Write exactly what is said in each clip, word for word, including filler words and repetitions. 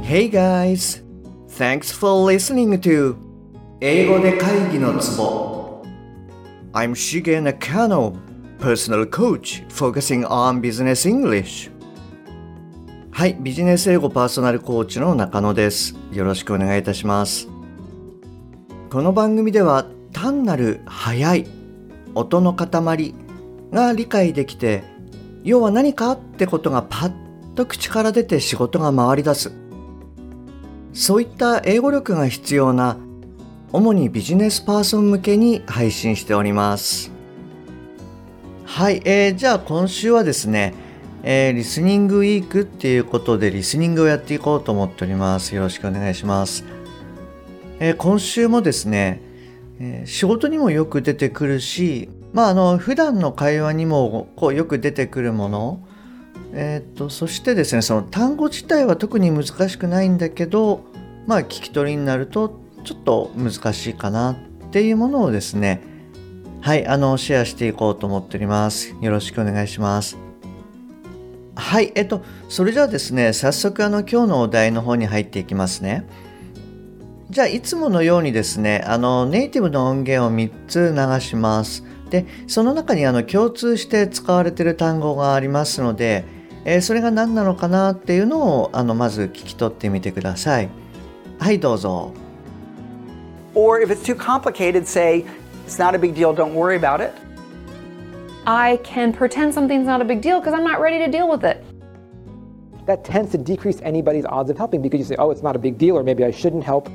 Hey guys! Thanks for listening to 英語で会議のツボ I'm Shige Nakano, personal coach focusing on business English. はい、ビジネス英語パーソナルコーチの中野です。よろしくお願いいたします。この番組では単なる速い音の塊が理解できて、要は何かってことがパッと口から出て仕事が回り出す。そういった英語力が必要な主にビジネスパーソン向けに配信しております。はい、えー、じゃあ今週はですね、えー、リスニングウィークっていうことでリスニングをやっていこうと思っております。よろしくお願いします。えー、今週もですね、えー、仕事にもよく出てくるし、まああの普段の会話にもこうよく出てくるもの、えー、とそしてですね、その単語自体は特に難しくないんだけど、まあ聞き取りになるとちょっと難しいかなっていうものをですね、はいあのシェアしていこうと思っております。よろしくお願いします。はい、えっとそれじゃあですね、早速あの今日のお題の方に入っていきますね。じゃあいつものようにですね、あのネイティブの音源をみっつ流します。でその中にあの共通して使われている単語がありますので、えー、それが何なのかなっていうのをあのまず聞き取ってみてください。はいどうぞ。 Or if it's too complicated, say, it's not a big deal, don't worry about it. I can pretend something's not a big deal because I'm not ready to deal with it. That tends to decrease anybody's odds of helping because you say, oh, it's not a big deal, or maybe I shouldn't help.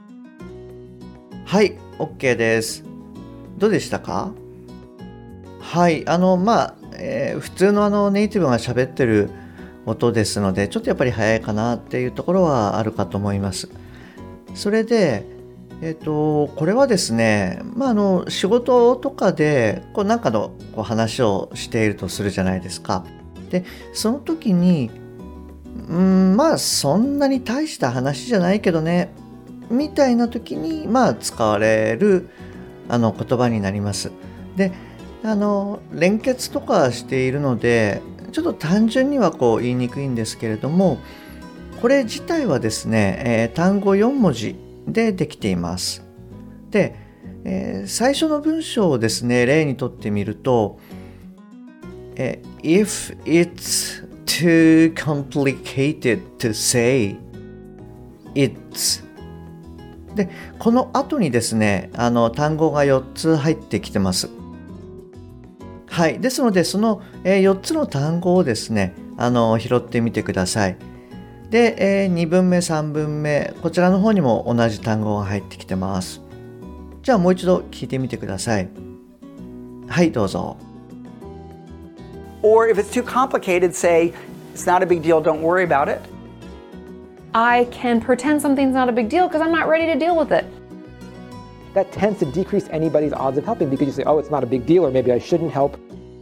はい OK です。どうでしたか？はいあのまあ、えー、普通のあのネイティブが喋ってる音ですので、ちょっとやっぱり早いかなっていうところはあるかと思います。それでえっとこれはですね、まああの仕事とかでこうなんかのこう話をしているとするじゃないですか。でその時にうーんまあそんなに大した話じゃないけどねみたいな時にまあ使われるあの言葉になります。であの連結とかしているのでちょっと単純にはこう言いにくいんですけれども、これ自体はですね、えー、単語よんもじでできています。で、えー、最初の文章をですね例にとってみると、えー、If it's too complicated to say it's でこの後にですねあの単語がよっつ入ってきてます。はい、ですのでそのよっつの単語をですねあの拾ってみてください。で、えー、にぶんめさんぶんめこちらの方にも同じ単語が入ってきてます。じゃあもう一度聞いてみてください。はいどうぞ。 Or if it's too complicated, say, it's not a big deal, don't worry about it. I can pretend something's not a big deal because I'm not ready to deal with it. That tends to decrease anybody's odds of helping because you say, oh, it's not a big deal, or maybe I shouldn't help.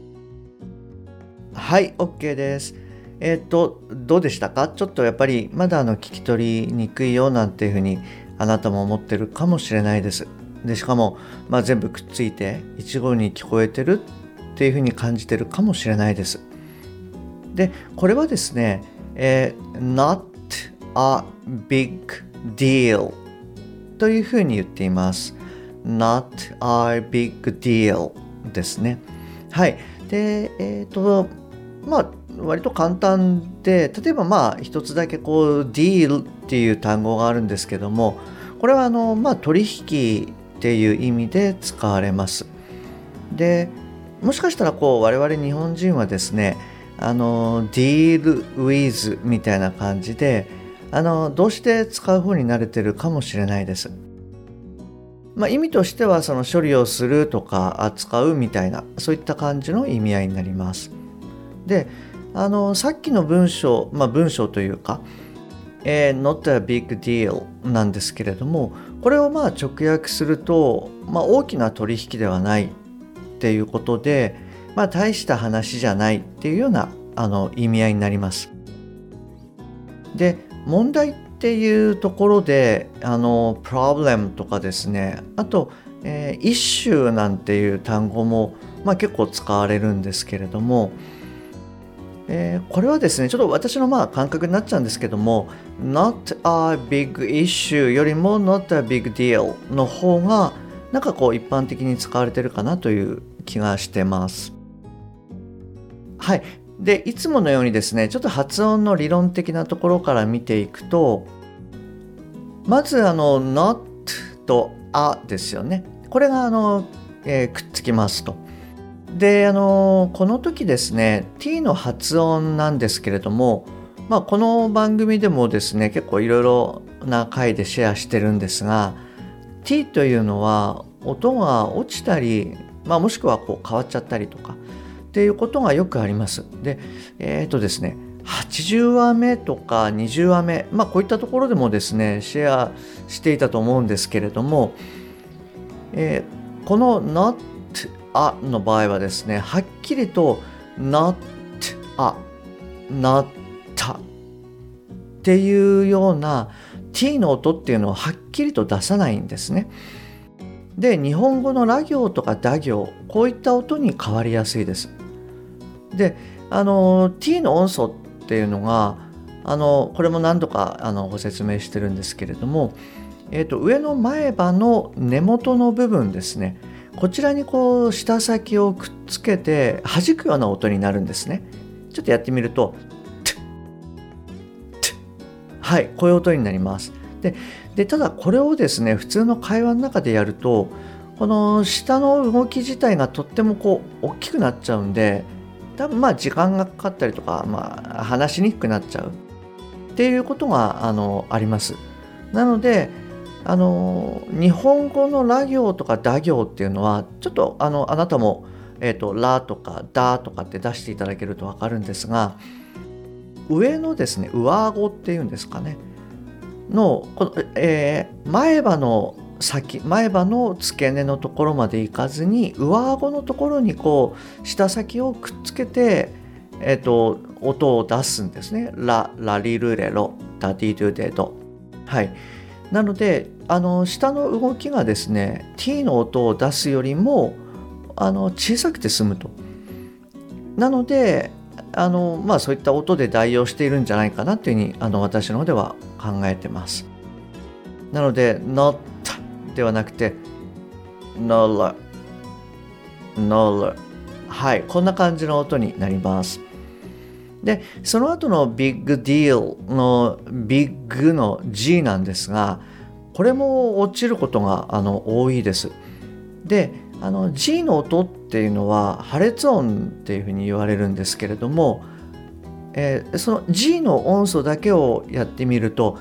はい OK です。えっとどうでしたか？ちょっとやっぱりまだあの聞き取りにくいよなんていうふうにあなたも思ってるかもしれないです。でしかも、まあ、全部くっついて一語に聞こえてるっていうふうに感じてるかもしれないです。でこれはですね、えー、not a big deal というふうに言っています。not a big deal ですね。はい。で、えっと、まあ、割と簡単で、例えばまあ、一つだけこう、deal っていう単語があるんですけども、これはあの、まあ、取引っていう意味で使われます。で、もしかしたらこう、我々日本人はですね、あの、deal with みたいな感じで、あの、動詞で使う方に慣れてるかもしれないです。まあ、意味としてはその処理をするとか扱うみたいなそういった感じの意味合いになります。で、あのさっきの文章、まあ、文章というか、えー、not a big deal なんですけれども、これをまあ直訳すると、まあ、大きな取引ではないっていうことで、まあ、大した話じゃないっていうようなあの意味合いになります。で、問題っていうところであの problem とかですね、あと、えー、issue なんていう単語も、まあ、結構使われるんですけれども、 えー、これはですねちょっと私のまあ感覚になっちゃうんですけども not a big issue よりも not a big deal の方がなんかこう一般的に使われてるかなという気がしてます。はい。でいつものようにですねちょっと発音の理論的なところから見ていくと、まずあの not と a ですよね。これがあの、えー、くっつきますと。であのこの時ですね t の発音なんですけれども、まあ、この番組でもですね結構いろいろな回でシェアしてるんですが、 t というのは音が落ちたり、まあ、もしくはこう変わっちゃったりとかっていうことがよくあります。でえっとですねはちじゅうわめとかにじゅうわめ、まあこういったところでもですねシェアしていたと思うんですけれども、えー、この not a の場合はですねはっきりと not a not a っていうような t の音っていうのをはっきりと出さないんですね。で日本語のラ行とかダ行こういった音に変わりやすいです。であの t の音素っていうのがあのこれも何度かあのご説明してるんですけれども、えーと、上の前歯の根元の部分ですね、こちらにこう舌先をくっつけて弾くような音になるんですね。ちょっとやってみるとはい、こういう音になります。ででただこれをですね普通の会話の中でやるとこの舌の動き自体がとってもこう大きくなっちゃうんで、多分まあ時間がかかったりとか、まあ、話しにくくなっちゃうっていうことがあのあります。なのであの日本語のラ行とかダ行っていうのはちょっとあのあなたも、えーと、ラとかダとかって出していただけると分かるんですが、上のですね上顎っていうんですかねのこの、えー、前歯の先前歯の付け根のところまでいかずに上顎のところにこう舌先をくっつけて、えーと、音を出すんですね。ラ、ラリルレロ、ダディドゥデド。はい。なのであの舌の動きがですね t の音を出すよりもあの小さくて済むと。なのであの、まあ、そういった音で代用しているんじゃないかなというふうにあの私の方では考えてます。なので not ではなくて nola nola はい、こんな感じの音になります。でその後の big deal の big の G なんですが、これも落ちることがあの多いです。であの G の音っていうのは破裂音っていうふうに言われるんですけれども、えー、その G の音素だけをやってみると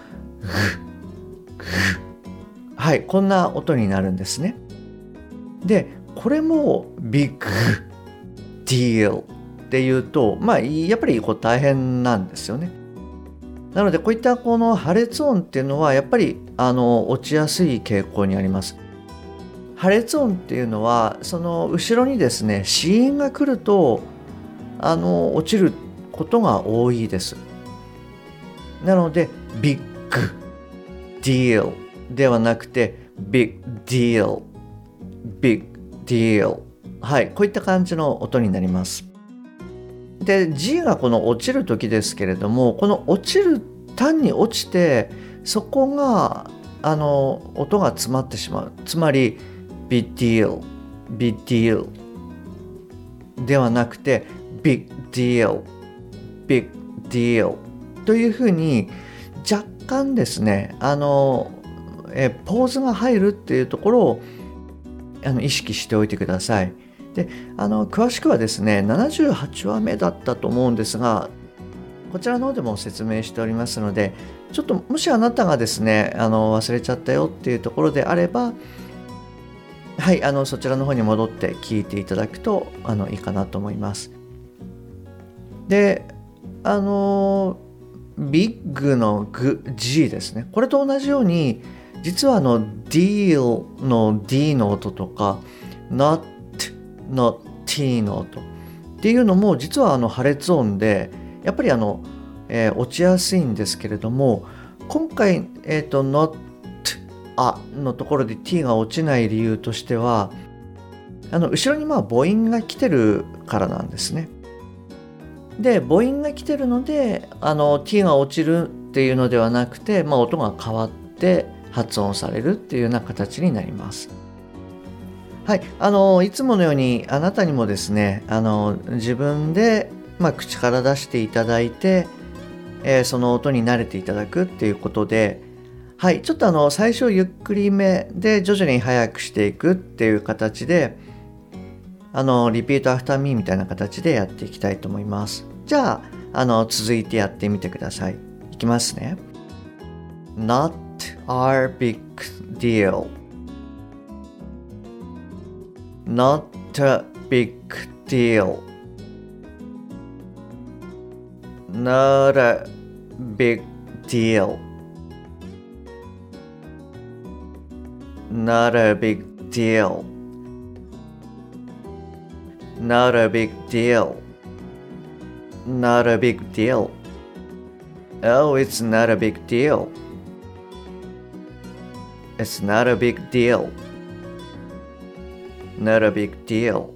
はい、こんな音になるんですね。でこれも big deal っていうと、まあやっぱりこう大変なんですよね。なのでこういったこの破裂音っていうのはやっぱりあの落ちやすい傾向にあります。破裂音っていうのはその後ろにですね子音が来るとあの落ちることが多いです。なので big deal ではなくて big deal big deal はい、こういった感じの音になります。で G がこの落ちる時ですけれども、この落ちる単に落ちてそこがあの音が詰まってしまう、つまり big deal big deal ではなくて big deal big deal というふうに若干ですねあのえポーズが入るっていうところをあの意識しておいてください。であの詳しくはですねななじゅうはちわめだったと思うんですが、こちらの方でも説明しておりますので、ちょっともしあなたがですねあの忘れちゃったよっていうところであれば、はい、あのそちらの方に戻って聞いていただくとあのいいかなと思います。であのビッグのグ G ですね、これと同じように実はあの deal の D の音とか not の T の音っていうのも実はあの破裂音でやっぱりあの、えー、落ちやすいんですけれども、今回、えーと、not a のところで T が落ちない理由としてはあの後ろにまあ母音が来てるからなんですね。 で母音が来てるのであの t が落ちるっていうのではなくて、まあ、音が変わって発音されるっていうような形になります。はい、あのいつものようにあなたにもですねあの自分で、まあ、口から出していただいて、えー、その音に慣れていただくっていうことで、はい、ちょっとあの最初ゆっくりめで徐々に速くしていくっていう形であのリピートアフターミーみたいな形でやっていきたいと思います。じゃあ、あの続いてやってみてください。いきますね。Not our big deal. Not a big deal. Not a big deal. Not a big deal. Not a big deal. Not a big deal. Oh, it's not a big deal. It's not a big deal. Not a big deal.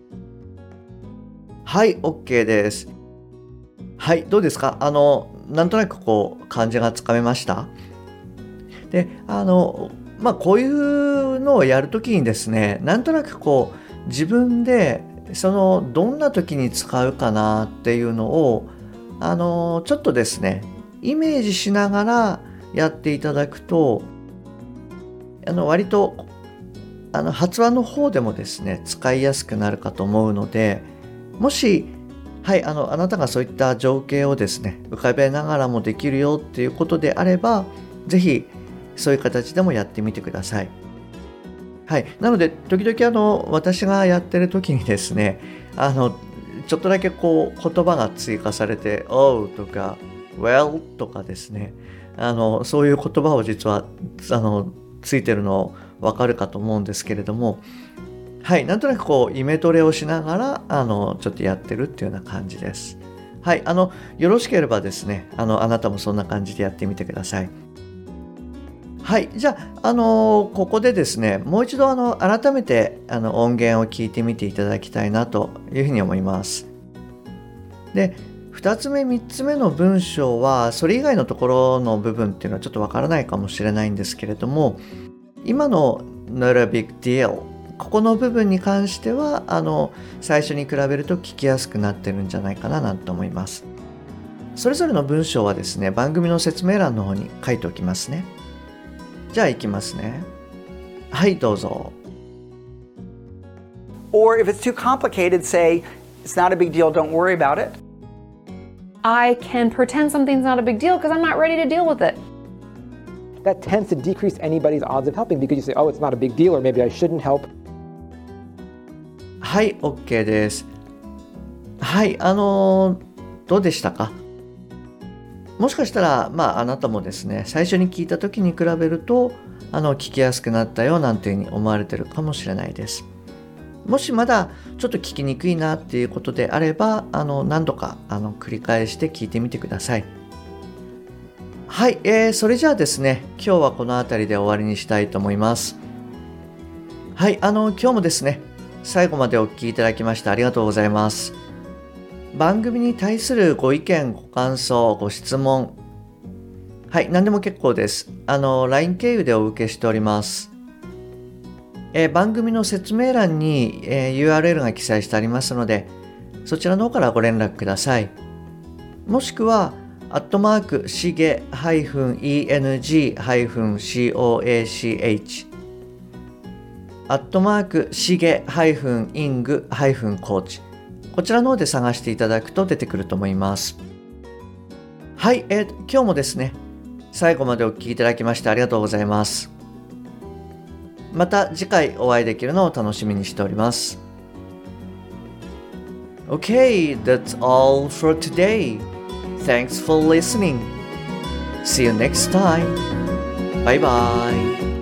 はい、OK です。はい、どうですか？あの、なんとなくこう、感じがつかめました？で、あの、まあ、こういうのをやるときにですね、なんとなくこう、自分で、その、どんな時に使うかなっていうのを、あの、ちょっとですね、イメージしながらやっていただくと、あの、割と、あの、発話の方でもですね、使いやすくなるかと思うので、もし、はい、あの、あなたがそういった情景をですね、浮かべながらもできるよっていうことであれば、ぜひ、そういう形でもやってみてください。はい、なので時々あの私がやってる時にですね、あのちょっとだけこう言葉が追加されて Oh とか Well とかですね、あのそういう言葉を実はあのついてるの分かるかと思うんですけれども、はい、なんとなくこうイメトレをしながらあのちょっとやってるっていうような感じです。はい、あのよろしければですね、あのあなたもそんな感じでやってみてください。はい、じゃあ、あのー、ここでですね、もう一度あの改めてあの音源を聞いてみていただきたいなというふうに思います。で、ふたつめ、みっつめの文章は、それ以外のところの部分っていうのはちょっとわからないかもしれないんですけれども、今の Not a big deal、ここの部分に関しては、あの、最初に比べると聞きやすくなってるんじゃないかななんて思います。それぞれの文章はですね、番組の説明欄の方に書いておきますね。じゃあ行きますね。はい、どうぞ。 Or if it's too complicated, say, it's not a big deal, don't worry about it. I can pretend something's not a big deal because I'm not ready to deal with it. That tends to decrease anybody's odds of helping because you say, oh, it's not a big deal, or maybe I shouldn't help. はい、OK です。はい、あのー、どうでしたか？もしかしたら、まあ、あなたもですね、最初に聞いた時に比べると、あの、聞きやすくなったよなんていうふうに思われてるかもしれないです。もしまだちょっと聞きにくいなっていうことであれば、あの、何度か、あの、繰り返して聞いてみてください。はい、えー、それじゃあですね、今日はこの辺りで終わりにしたいと思います。はい、あの、今日もですね、最後までお聞きいただきましてありがとうございます。番組に対するご意見、ご感想、ご質問、はい、何でも結構です。あの、ライン 経由でお受けしております。えー、番組の説明欄に、えー、ユーアールエル が記載してありますので、そちらの方からご連絡ください。もしくは、アットマーク、しげ -eng-coach、アットマーク、しげ -ing-coach、こちらの方で探していただくと出てくると思います。はい、えー、今日もですね、最後までお聞きいただきましてありがとうございます。また次回お会いできるのを楽しみにしております。Okay, that's all for today. Thanks for listening. See you next time. Bye bye.